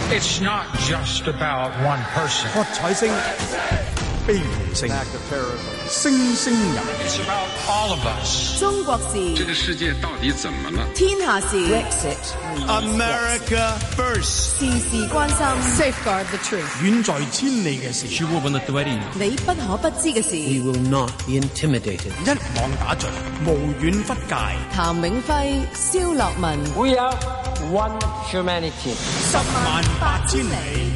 It's not just about one person. 喝彩聲、悲鳴聲、聲聲入。 It's about all of us. 中國事， 這個世界到底怎麼了？ 天下事 America first， 事事關心 Safeguard the truth， 遠在千里嘅事， 你不可不知嘅事。 We will not be intimidated。 一網打盡，無遠弗屆。 譚永輝、蕭樂文 We are one humanity。 108000里。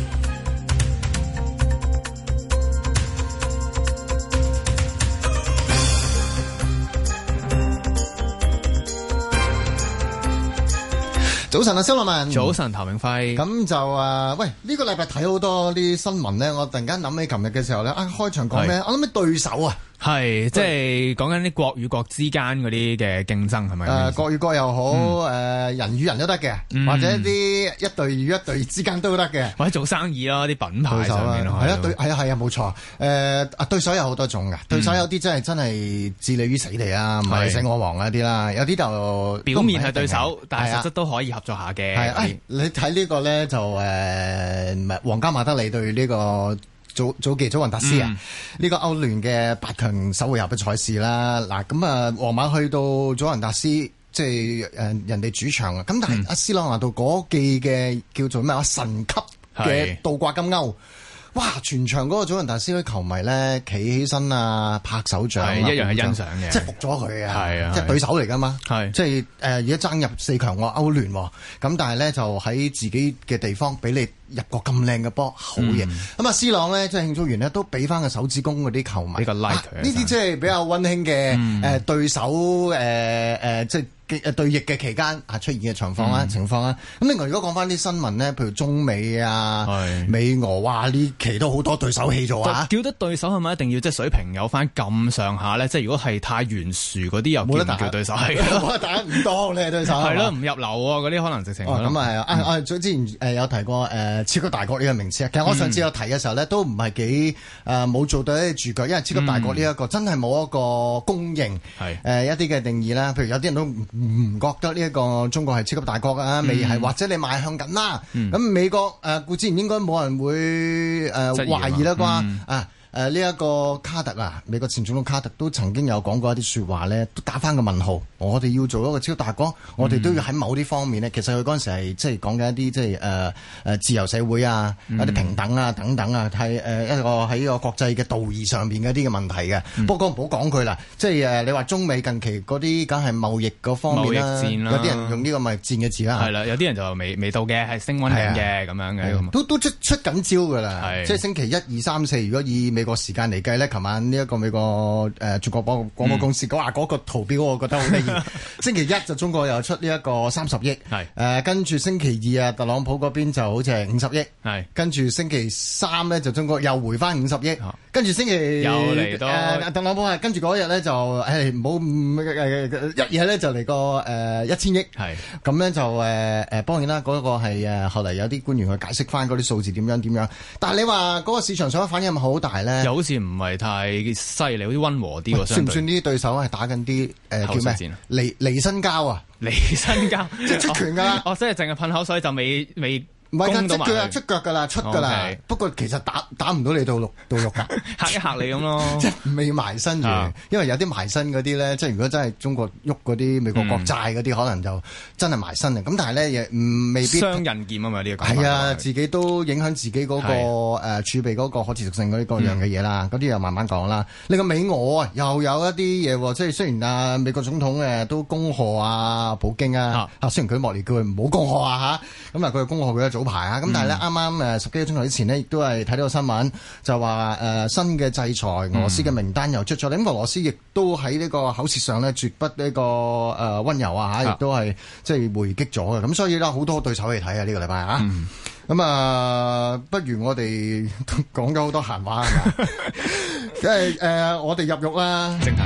早晨啊，蕭樂文。 早晨，譚永輝。 咁就喂，呢個禮拜睇好多啲新聞咧，我突然間諗起琴日嘅時候咧，開場講咩？我諗起對手啊。 係，即係講緊啲國與國之間嗰啲嘅競爭係咪？ 國與國又好，人與人都得嘅，或者啲一隊與一隊之間都得嘅， 或者做生意咯，啲品牌上面咯， 係啊，冇錯。對手有好多種㗎，對手有啲真係置你於死地啊，唔係死我亡嗰啲啦，有啲就表面係對手，但係實質都可以合作下嘅。 係，你睇呢個咧就皇家馬德里對呢個祖記祖雲達斯啊，呢個歐聯嘅8強首回合嘅賽事啦。嗱，咁皇馬去到祖雲達斯，即係人哋主場啊。咁但係阿斯朗拿度嗰記嘅叫做咩神級嘅倒掛金鈎。哇！全場嗰個祖雲達斯嗰啲球迷咧，企起身啊，拍手掌， 一樣係欣賞嘅， 即係服咗佢啊！ 係啊， 即係對手嚟㗎嘛， 係即係而家爭入4強喎，歐聯喎，咁但係咧就喺自己嘅地方俾你入個咁靚嘅波，好嘢！咁啊，C朗咧即係慶祝完咧，都俾翻個手指公嗰啲球迷， 呢個 like 佢呢啲即係比較溫馨嘅對手即係對弈嘅期間出現嘅情況啦。咁另外如果講翻啲新聞咧，譬如中美啊、美俄，哇呢期都好多對手戲做啊！ 叫得對手係咪一定要即係水平有翻咁上下咧？即係如果係太懸殊嗰啲又叫唔叫對手？係冇得打唔當你對手係咯，唔入流嗰啲可能直情咁啊！我之前有提過超級大國呢個名詞啊。其實我上次有提嘅時候咧，都唔係幾冇做到一啲注腳，因為超級大國呢一個真係冇一個公認一啲嘅定義啦。譬如有啲人都唔覺得呢一個中國係超級大國啊，未係或者你邁向緊啦。咁美國固之然應該冇人會懷疑啦啩呢一個卡特啊，美國前總統卡特都曾經有講過一啲説話咧，都打翻個問號。我哋要做一個超大國，我哋都要喺某啲方面咧。其實佢嗰陣時係即係講緊一啲即係自由社會啊，一啲平等啊等等啊，係一個喺個國際嘅道義上邊嘅一啲嘅問題嘅。不過唔好講佢啦，即係你話中美近期嗰啲梗係貿易嗰方面啦，有啲人用呢個貿易戰嘅字啦。 係啦，有啲人就未到嘅，係升溫緊嘅咁樣嘅。 都出緊招㗎啦，即係星期1、2、3、4，如果以美國時間嚟計咧，琴晚呢一個美國中國廣播公司嗰個圖表，我覺得好得意。星期1就中國又出呢一個30億，跟住星期2啊，特朗普嗰邊就好似係50億，跟住星期3咧就中國又回翻50億，跟住星期又嚟到特朗普係跟住嗰日咧就唔好一嘢咧就嚟個1000億，咁咧就當然啦，嗰個係後嚟有啲官員去解釋翻嗰啲數字點樣，但係你話嗰個市場上反應係咪好大咧？ 又好似唔係太犀利，好似溫和啲喎。 算唔算呢啲對手係打緊啲叫咩？離身交啊！ 離身交即係出拳㗎啦！ 即係淨係噴口水就未唔係㗎，即係出腳㗎啦，出㗎啦。不過其實打唔到你到肉㗎， 嚇一嚇你咁咯。 即係未埋身住，因為有啲埋身嗰啲咧，即係如果真係中國喐嗰啲美國國債嗰啲，可能就真係埋身嘅。咁但係咧，亦未必雙刃劍啊嘛呢個。 係啊，自己都影響自己嗰個儲備嗰個可持續性嗰啲各樣嘅嘢啦。嗰啲又慢慢講啦。呢個美俄啊，又有一啲嘢喎，即係雖然美國總統都恭賀普京啊，雖然佢莫尼叫佢唔好恭賀啊嚇，咁佢恭賀佢嘅早排啊，咁但係咧啱啱10幾個鐘頭之前呢，亦都係睇到個新聞，就話新嘅制裁俄羅斯嘅名單又出咗。咁俄羅斯亦都喺呢個口舌上咧絕不呢個溫柔啊嚇，亦都係即係回擊咗嘅。咁所以咧好多對手嚟睇啊呢個禮拜啊。咁不如我哋講咗好多閒話係嘛？即係我哋入獄啦。 正題。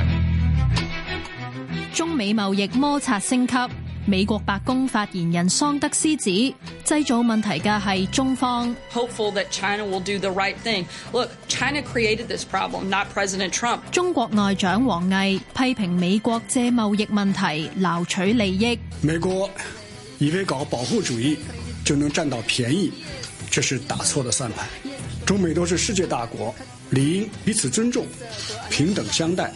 中美貿易摩擦升級。美國白宮發言人桑德斯指，製造問題嘅係中方。 Hopeful that China will do the right thing. Look, China created this problem, not President Trump. 中國外長王毅批評美國借貿易問題撈取利益。 美國以為搞保護主義， 就能佔到便宜，這是打錯的算盤。中美都是世界大國，理應彼此尊重，平等相待。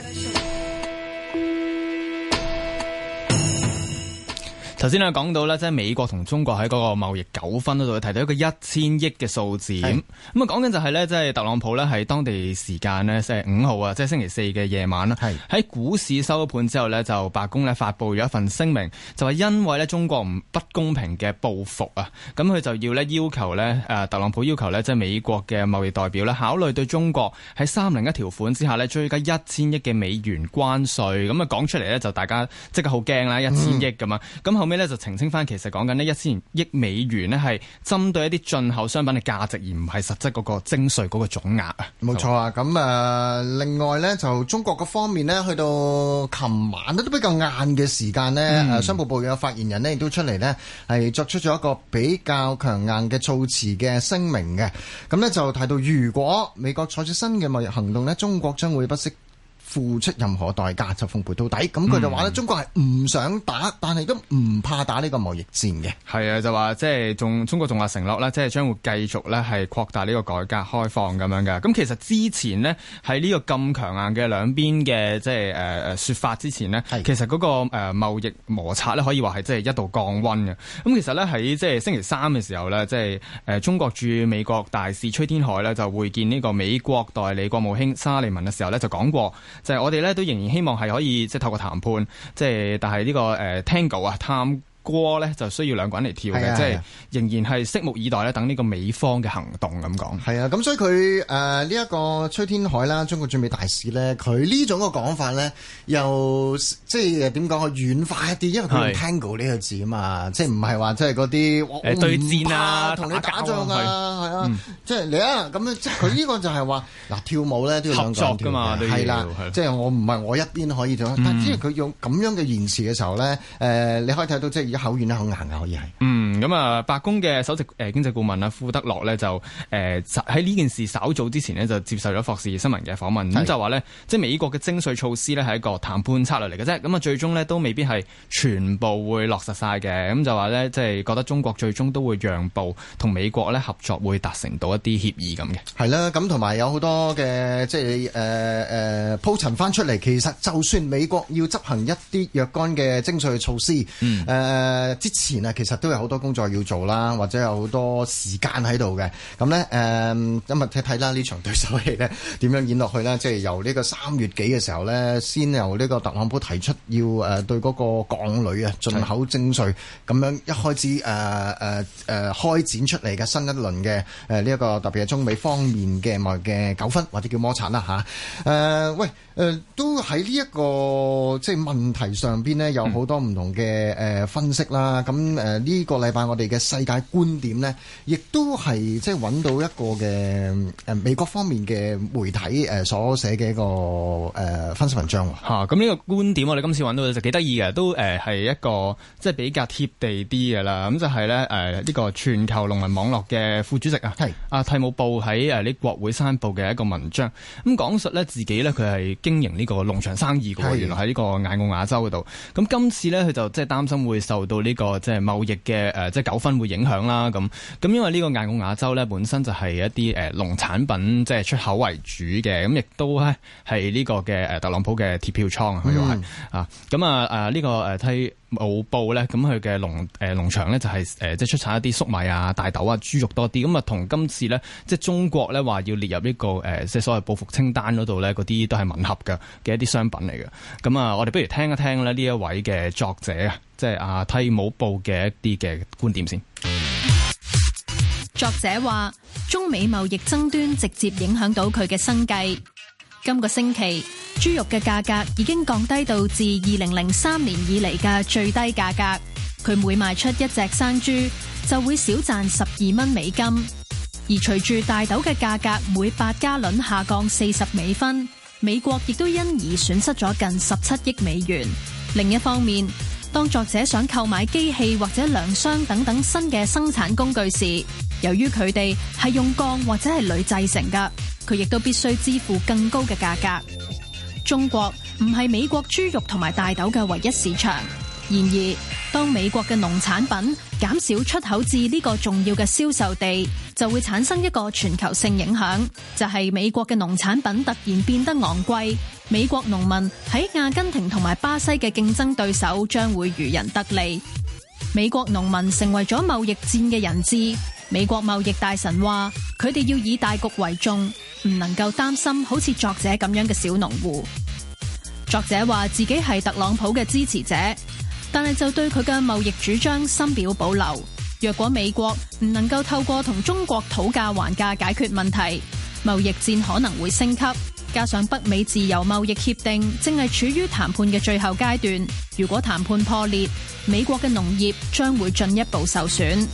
頭先咧講到咧，即係美國同中國喺嗰個貿易糾紛嗰度提到一個1000億嘅數字。咁啊講緊就係咧，即係特朗普咧喺當地時間咧，即係5號啊，即係星期4嘅夜晚啦，喺股市收盤之後咧，就白宮咧發布咗一份聲明，就係因為咧中國不公平嘅報復啊，咁佢就要咧要求咧特朗普要求咧即係美國嘅貿易代表咧考慮對中國喺301條款之下咧追加1000億嘅美元關稅。咁啊講出嚟咧就大家即刻好驚啦，1000億咁啊，咁後尾咧就澄清翻，其實講緊呢1000億美元呢係針對一啲進口商品嘅價值，而唔係實質嗰個徵稅嗰個總額啊。 冇錯啊！咁另外呢，就中國嗰方面呢，去到琴晚都比較晏嘅時間呢，商務部嘅發言人呢亦都出嚟呢係作出咗一個比較強硬嘅措辭嘅聲明嘅。咁呢就提到，如果美國採取新嘅貿易行動呢，中國將會不惜付出任何代價就奉陪到底。咁佢就話咧，中國係唔想打，但係都唔怕打呢個貿易戰嘅。係啊，就話即係中國仲話承諾咧，即係將會繼續咧係擴大呢個改革開放咁樣嘅。咁其實之前呢，喺呢個咁強硬嘅兩邊嘅即係説法之前呢，其實嗰個貿易摩擦咧可以話係即係一度降溫嘅。咁其實咧喺即係星期3嘅時候咧，即係中國駐美國大使崔天凱咧就會見呢個美國代理國務卿沙利文嘅時候咧就講過。就係我哋咧都仍然希望係可以即係透過談判，即係但係呢個Tango 啊探歌咧就需要兩個人嚟跳嘅，即係仍然係拭目以待咧，等呢個美方嘅行動咁講。係啊，咁所以佢呢一個崔天凱啦，中國駐美大使咧，佢呢種嘅講法咧，又即係點講啊，軟化一啲，因為佢用 Tango 呢個字啊嘛，即係唔係話即係嗰啲對戰啊，同你打仗啊，係啊，即係你啊咁樣，即係佢呢個就係話嗱跳舞咧都要兩個人跳嘅，係啦，即係我唔係我一邊可以做，但係只係佢用咁樣嘅言辭嘅時候咧，你可以睇到即係。一口軟一口硬嘅可以係。咁啊，白宮嘅首席經濟顧問啊，庫德洛咧就喺呢件事稍早之前呢，就接受咗霍士新聞嘅訪問，咁就話咧，即係美國嘅徵稅措施咧係一個談判策略嚟嘅啫，咁啊最終咧都未必係全部會落實晒嘅，咁就話咧即係覺得中國最終都會讓步，同美國咧合作會達成到一啲協議咁嘅。係啦，咁同埋有好多嘅即係鋪陳翻出嚟，其實就算美國要執行一啲若干嘅徵稅措施，之前啊，其實都有好多工作要做啦，或者有好多時間喺度嘅。咁咧今日睇睇啦，呢場對手戲咧點樣演落去咧？即係由呢個3月幾嘅時候咧，先由呢個特朗普提出要對嗰個鋼鋁啊進口徵稅，咁樣一開始開展出嚟嘅新一輪嘅呢一個特別係中美方面嘅貿易嘅糾紛或者叫摩擦啦嚇。都喺呢一個即係問題上邊呢，有好多唔同嘅分析啦。咁呢個禮拜我哋嘅世界觀點呢，亦都係即係揾到一個嘅美國方面嘅媒體所寫嘅一個分析文章喎。咁呢個觀點我哋今次揾到就幾得意嘅，都係一個即係比較貼地啲嘅啦。咁就係咧呢個全球農民網絡嘅副主席蒂姆布喺呢國會山報嘅一個文章，咁講述咧自己咧佢係經營呢個農場生意嘅，原來喺呢個艾奧瓦州嗰度。咁今次咧佢就即係擔心會受到呢個即係貿易嘅即係糾紛會影響啦。咁因為呢個艾奧瓦州咧本身就係一啲農產品即係出口為主嘅，咁亦都咧係呢個嘅特朗普嘅鐵票倉啊，佢又係咁呢個蒂姆布咧，咁佢嘅農場咧就係即係出產一啲粟米啊、大豆啊、豬肉多啲，咁啊同今次咧即係中國咧話要列入呢個即係所謂報復清單嗰度咧，嗰啲都係吻合嘅一啲商品嚟嘅。咁我哋不如聽一聽咧呢一位嘅作者啊，即係蒂姆布嘅一啲嘅觀點先。 作者話，中美貿易爭端直接影響到佢嘅生計。今個星期，豬肉嘅價格已經降低到自2003年以嚟嘅最低價格。佢每賣出一隻生豬，就會少賺12蚊美金。而隨住大豆嘅價格每8加侖下降40美分，美國亦都因而損失咗近17億美元。另一方面，當作者想購買機器或者糧箱等等新嘅生產工具時，由於佢哋係用鋼或者係鋁製成㗎，佢亦都必須支付更高嘅價格。中國唔係美國豬肉同埋大豆嘅唯一市場，然而當美國嘅農產品減少出口至呢個重要嘅銷售地，就會產生一個全球性影響，就係美國嘅農產品突然變得昂貴，美國農民喺阿根廷同埋巴西嘅競爭對手將會漁人得利。美國農民成為咗貿易戰嘅人質。美國貿易大臣話，佢哋要以大局為重，唔能夠擔心好似作者咁樣嘅小農戶。作者話自己係特朗普嘅支持者，但係就對佢嘅貿易主張深表保留。若果美國唔能夠透過同中國討價還價解決問題，貿易戰可能會升級。加上北美自由貿易協定正係處於談判嘅最後階段，如果談判破裂，美國嘅農業將會進一步受損。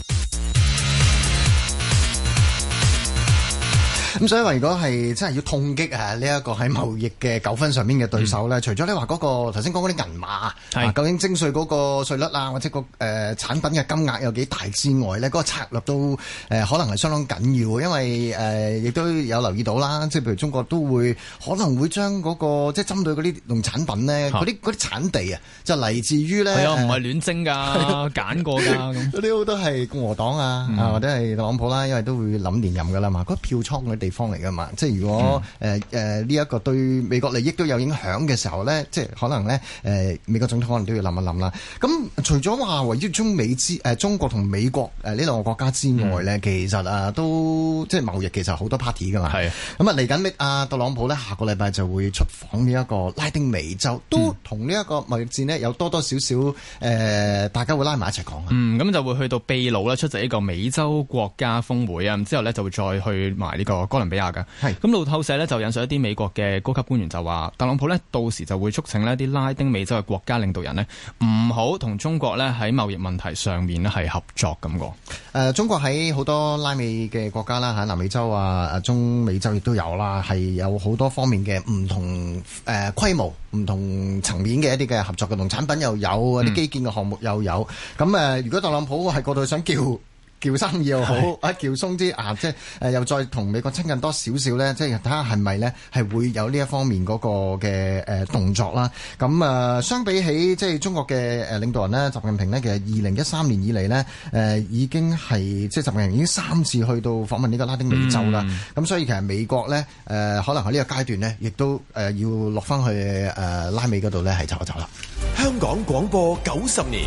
咁所以話，如果係真係要痛擊呢一個喺貿易嘅糾紛上面嘅對手咧，除咗你話嗰個頭先講嗰啲銀碼究竟徵稅嗰個稅率啊，或者個產品嘅金額有幾大之外咧，嗰個策略都可能係相當緊要，因為亦都有留意到啦，即係譬如中國都會可能會將嗰個即係針對嗰啲農產品咧，嗰啲產地啊，就嚟自於咧係啊，唔係亂徵㗎，揀過㗎咁。 嗰啲好多係共和黨或者係特朗普啦，因為都會諗連任㗎啦嘛，嗰票倉嗰啲地方嚟㗎嘛，即係如果呢一個對美國利益都有影響嘅時候咧，即係可能咧美國總統可能都要諗一諗啦。咁除咗話圍繞中國同美國呢兩個國家之外咧，其實都即係貿易其實好多 party 㗎嘛。係咁嚟緊特朗普咧下個禮拜就會出訪呢一個拉丁美洲，都同呢一個貿易戰呢有多多少少大家會拉埋一齊講。 咁就會去到秘魯啦，出席呢個美洲國家峰會啊，之後咧就會再去埋呢個哥倫比亞。咁路透社咧就引述一啲美國嘅高級官員就話，特朗普咧到時就會促請呢啲拉丁美洲嘅國家領導人呢唔好同中國咧喺貿易問題上面咧係合作咁個。 中國喺好多拉美嘅國家啦，喺南美洲中美洲亦都有啦，係有好多方面嘅唔同規模、唔同層面嘅一啲嘅合作嘅農產品又有，啲基建嘅項目又有。咁如果特朗普喺嗰度想叫生意又好，叫鬆啲即係又再同美國親近多少少咧，即係睇下係咪咧係會有呢一方面嗰個嘅動作啦。咁相比起即係中國嘅領導人咧，習近平咧，其實2013年以嚟咧已經係即係習近平已經3次去到訪問呢個拉丁美洲啦。咁所以其實美國咧可能喺呢個階段咧，亦都要落翻去拉美嗰度咧係走一走啦。 香港廣播90年。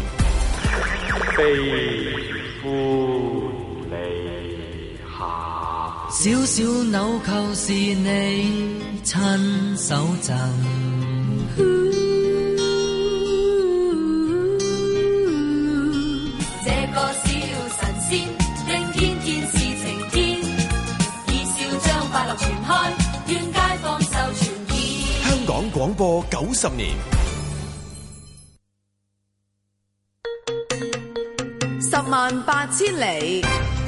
小小紐扣是你親手贈， 這個小神仙令天天是晴天，以笑將快樂傳開，願街坊受傳染。 香港廣播90年 ，108000里。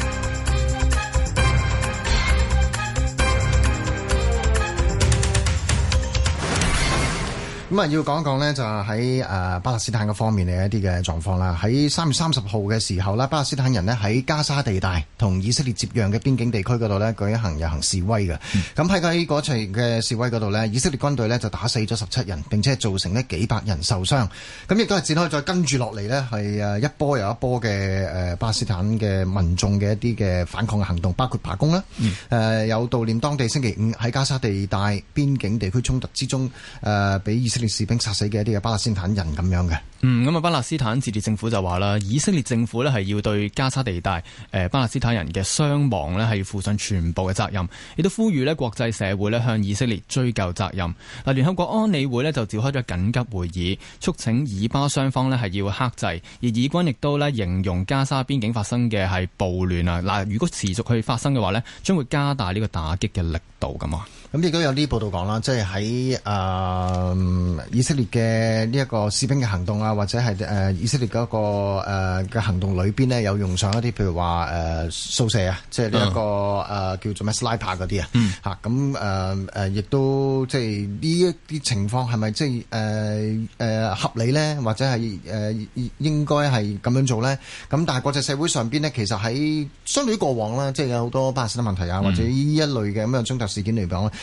咁要講一講呢，就喺巴勒斯坦嘅方面嘅一啲嘅狀況啦。喺3月30號嘅時候呢，巴勒斯坦人呢喺加沙地帶同以色列接壤嘅邊境地區嗰度呢舉行遊行示威嘅。咁喺嗰場嘅示威嗰度呢，以色列軍隊呢就打死咗17人，並且造成呢幾百人受傷。咁亦都係展開再跟住落嚟呢，係一波又一波嘅巴勒斯坦嘅民眾嘅一啲嘅反抗嘅行動，包括罷工啦。有悼念當地星期5喺加沙地帶邊境地區衝突之中俾以色列士兵殺死嘅一啲嘅巴勒斯坦人咁樣嘅。 咁巴勒斯坦自治政府就話啦，以色列政府呢係要對加沙地帶巴勒斯坦人嘅傷亡呢係要負上全部嘅責任，亦都呼籲呢國際社會呢向以色列追究責任。聯合國安理會呢就召開咗緊急會議，促請以巴雙方呢係要克制，而以軍亦都呢形容加沙邊境發生嘅係暴亂啊！如果持續去發生嘅話呢，將會加大呢個打擊嘅力度咁啊！ 咁亦都有啲報道講啦，即係喺以色列嘅呢一個士兵嘅行動啊，或者係以色列嗰個嘅行動裏邊呢，有用上一啲譬如話掃射啊，即係呢一個叫做咩 sniper 嗰啲啊，嚇咁亦都即係呢一啲情況係咪即係合理呢？或者係應該係咁樣做呢？咁但係國際社會上邊呢，其實喺相對於過往啦，即係有好多巴勒斯坦問題啊，或者呢一類嘅咁樣衝突事件嚟講，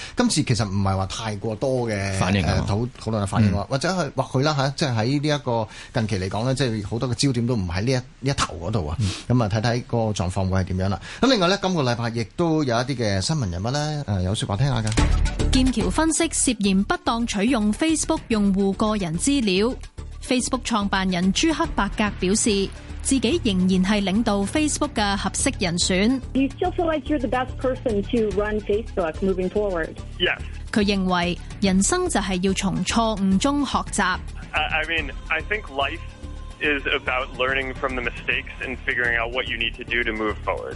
今次其實唔係話太過多嘅反應討論嘅反應，或者係或許啦嚇，即係喺呢一個近期嚟講呢，即係好多嘅焦點都唔喺呢一頭嗰度啊。咁啊睇睇個狀況會係點樣啦。咁另外呢，今個禮拜亦都有一啲嘅新聞人物呢，有説話聽下㗎。 劍橋分析涉嫌不當取用 Facebook 用戶個人資料。Facebook 創辦人朱克伯格表示，自己仍然係領導 Facebook 嘅合適人選。 You still feel like you're the best person to run Facebook moving forward? Yes. 佢認為人生就係要從錯誤中學習。 I mean, I think life is about learning from the mistakes and figuring out what you need to do to move forward.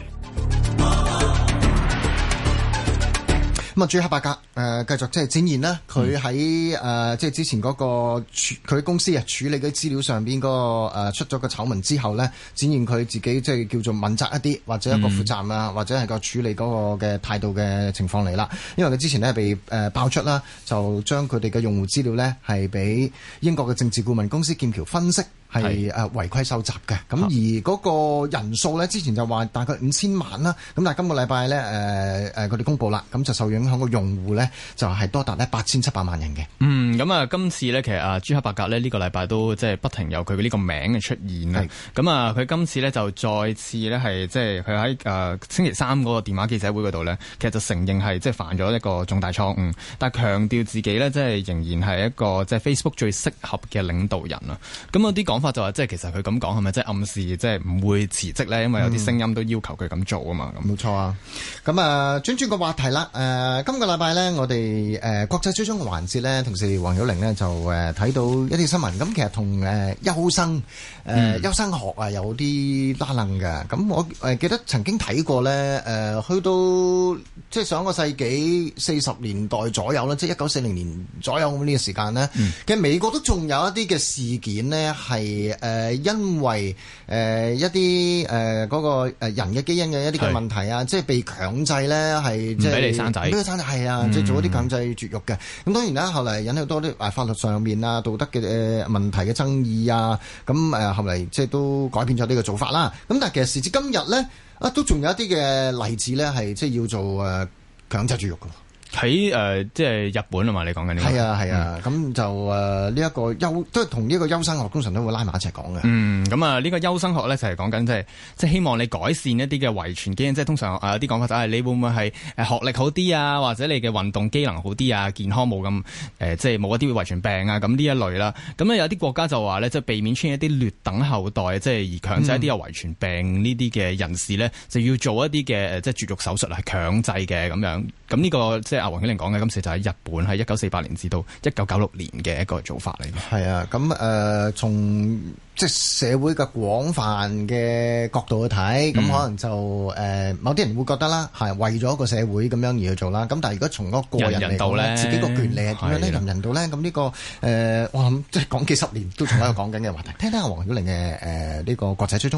咁啊，朱克伯格繼續即係展現啦，佢喺即係之前嗰個佢公司處理嘅資料上邊嗰個出咗個醜聞之後咧，展現佢自己即係叫做問責一啲，或者一個負責啊，或者係個處理嗰個嘅態度嘅情況嚟啦。因為佢之前咧被爆出啦，就將佢哋嘅用戶資料咧係俾英國嘅政治顧問公司劍橋分析係違規收集嘅。咁而嗰個人數咧，之前就話大概5000萬啦，咁但係今個禮拜咧佢哋公佈啦，咁就受影響個用戶咧就係多達咧8700萬人嘅。 咁啊，今次咧其實朱克伯格咧呢個禮拜都即係不停有佢呢個名嘅出現啦。咁啊，佢今次咧就再次咧係即係佢喺星期三嗰個電話記者會嗰度咧，其實就承認係即係犯咗一個重大錯誤，但係強調自己咧即係仍然係一個即係 Facebook 最適合嘅領導人啊。咁有啲講法就話即係其實佢咁講係咪即係暗示即係唔會辭職咧？因為有啲聲音都要求佢咁做啊嘛。 冇錯啊。咁啊，轉個話題啦。今個禮拜咧，我哋國際追蹤嘅環節咧，同事黃曉玲呢就睇到一啲新聞。咁其實同優生學啊有啲拉楞嘅。咁我記得曾經睇過咧，去到即係上個世紀40年代左右啦，即係1940年左右咁呢個時間咧，其實美國都仲有一啲嘅事件呢，係因為一啲嗰個人嘅基因嘅一啲嘅問題啊，即係被強制咧係即係唔俾你生仔，係啊，即係做一啲強制絕育嘅。咁當然啦，後嚟引起好多啲法律上面啊、道德嘅問題嘅爭議啊，咁後嚟即係都改變咗呢個做法啦。咁但係其實時至今日咧，都仲有一啲嘅例子咧，係即係要做強制絕育嘅。 喺即係日本啊嘛，你講緊呢個係啊，咁就呢一個都係同呢個優生學通常都會拉埋一齊講嘅。 咁啊呢個優生學咧就係講緊即係希望你改善一啲嘅遺傳基因，即係通常有啲講法就係你會唔會係學歷好啲啊，或者你嘅運動機能好啲啊，健康冇咁即係冇一啲遺傳病啊，咁呢一類啦。咁咧有啲國家就話咧，即係避免出現一啲劣等後代，即係而強制一啲有遺傳病呢啲嘅人士咧，就要做一啲嘅即係絕育手術係強制嘅咁樣。咁呢個即係黃曉玲講嘅，今次就喺日本喺1948年至到1996年嘅一個做法嚟嘅。 係啊，咁從即係社會嘅廣泛嘅角度去睇，咁可能就某啲人會覺得啦，係為咗一個社會咁樣而去做啦。咁但係如果從嗰個人嚟講咧，自己個權利係點樣咧？人人道咧？咁呢個我諗即係講幾十年都仲喺度講緊嘅話題。聽聽阿黃曉玲嘅呢個國際追蹤。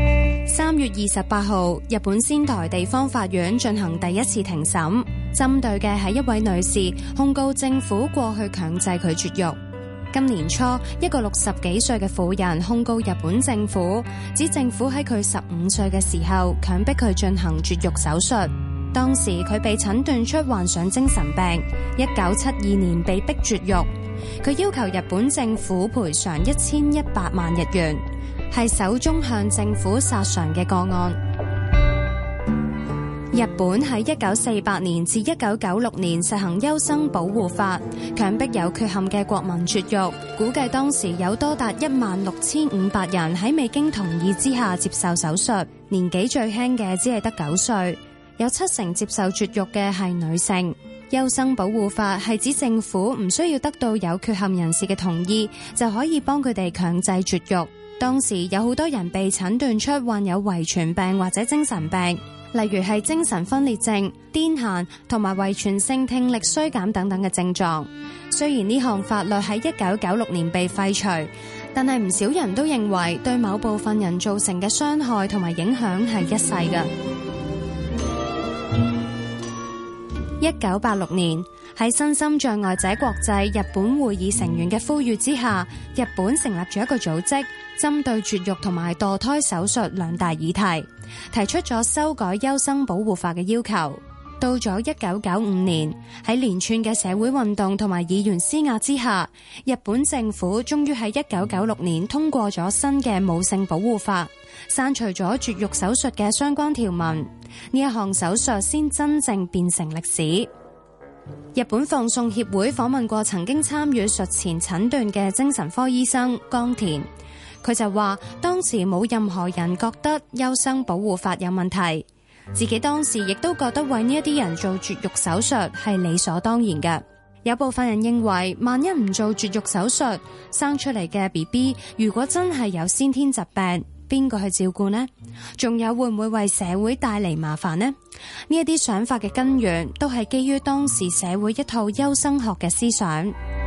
3月28號，日本仙台地方法院進行第一次庭審，針對嘅係一位女士控告政府過去強制佢絕育。今年初，一個60幾歲嘅婦人控告日本政府，指政府喺佢15歲嘅時候強迫佢進行絕育手術。當時佢被診斷出患上精神病，1972年被逼絕育。佢要求日本政府賠償1100萬日元。係首宗向政府索償嘅個案。日本喺1948年至1996年實行優生保護法，強迫有缺陷嘅國民絕育。估計當時有多達16500人喺未經同意之下接受手術，年紀最輕嘅只係得9歲，有70%接受絕育嘅係女性。優生保護法係指政府唔需要得到有缺陷人士嘅同意，就可以幫佢哋強制絕育。當時有好多人被診斷出患有遺傳病或者精神病，例如係精神分裂症、癲癇同埋遺傳性聽力衰減等等嘅症狀。雖然呢項法律喺1996年被廢除，但係唔少人都認為對某部分人造成嘅傷害同埋影響係一世嘅。1986年，喺身心障礙者國際日本會議成員嘅呼籲之下，日本成立咗一個組織，針對絕育同埋墮胎手術兩大議題，提出咗修改優生保護法嘅要求。 到咗1995年，喺連串嘅社會運動同埋議員施壓之下，日本政府終於喺1996年通過咗新嘅母性保護法，刪除咗絕育手術嘅相關條文，呢一項手術先真正變成歷史。日本放送協會訪問過曾經參與術前診斷嘅精神科醫生岡田，佢就話當時冇任何人覺得優生保護法有問題，自己當時亦都覺得為呢一啲人做絕育手術係理所當然嘅。有部分人認為，萬一唔做絕育手術，生出嚟嘅 BB 如果真係有先天疾病，邊個去照顧呢？仲有會唔會為社會帶嚟麻煩呢？呢一啲想法嘅根源都係基於當時社會一套優生學嘅思想。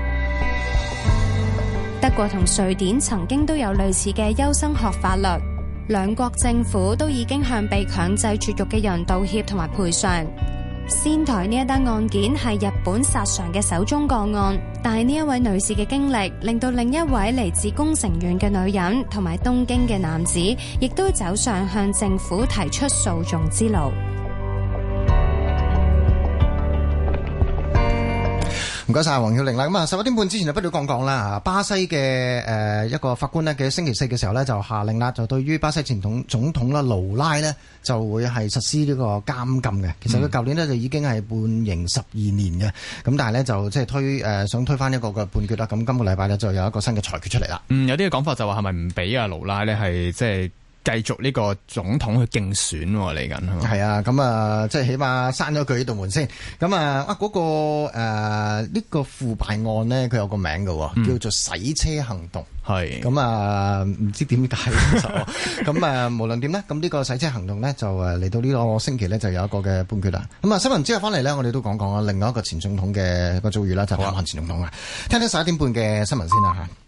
德國同瑞典曾經都有類似嘅優生學法律，兩國政府都已經向被強制絕育嘅人道歉同埋賠償。仙台呢一單案件係日本殺常嘅首宗個案，但係呢一位女士嘅經歷令到另一位嚟自宮城縣嘅女人同埋東京嘅男子，亦都走上向政府提出訴訟之路。 唔該晒黃曉玲啦。咁啊，11點半之前就不如講講啦。巴西嘅一個法官呢，嘅星期四嘅時候呢，就下令啦，就對於巴西前總統啦盧拉呢，就會係實施呢個監禁嘅。其實佢舊年呢，就已經係判刑12年嘅，咁但係呢，就即係想推翻一個嘅判決啦。咁今個禮拜呢，就有一個新嘅裁決出嚟啦。 有啲嘅講法就話係咪唔俾阿盧拉呢係即係繼續呢個總統去競選嚟緊？ 係啊，咁啊，即係起碼閂咗佢呢道門先。咁嗰個呢個腐敗案呢，佢有個名嘅，叫做洗車行動。係咁啊，唔知點解咁無論點呢，咁呢個洗車行動呢，就嚟到呢個星期呢，就有一個嘅判決啦。咁啊，新聞之後翻嚟呢，我哋都講講另外一個前總統嘅個遭遇啦，就係南韓前總統啦。聽聽11點半嘅新聞先啦嚇。